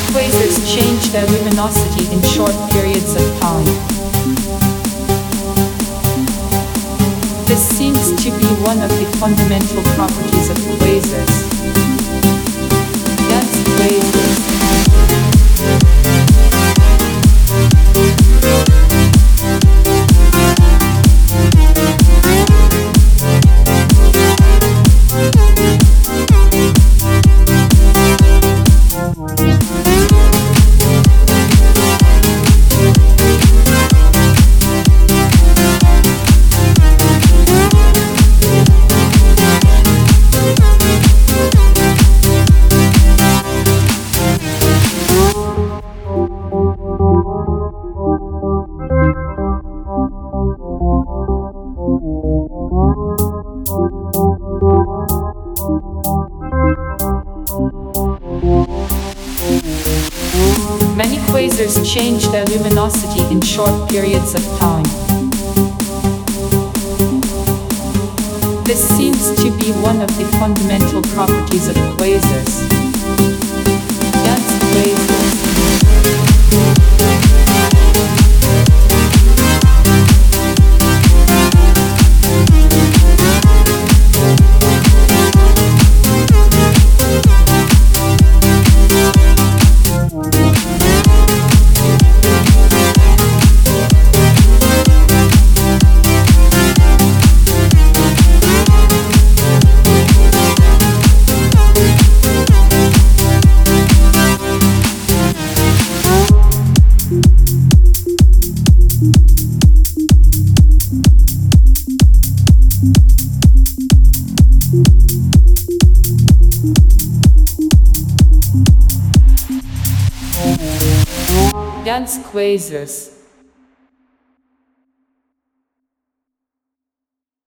quasars change their luminosity in short periods of time. This seems to be one of the fundamental properties of quasars. Dense quasars. Many quasars change their luminosity in short periods of time. This seems to be one of the fundamental properties of quasars. Dense quasars. Dense quasars.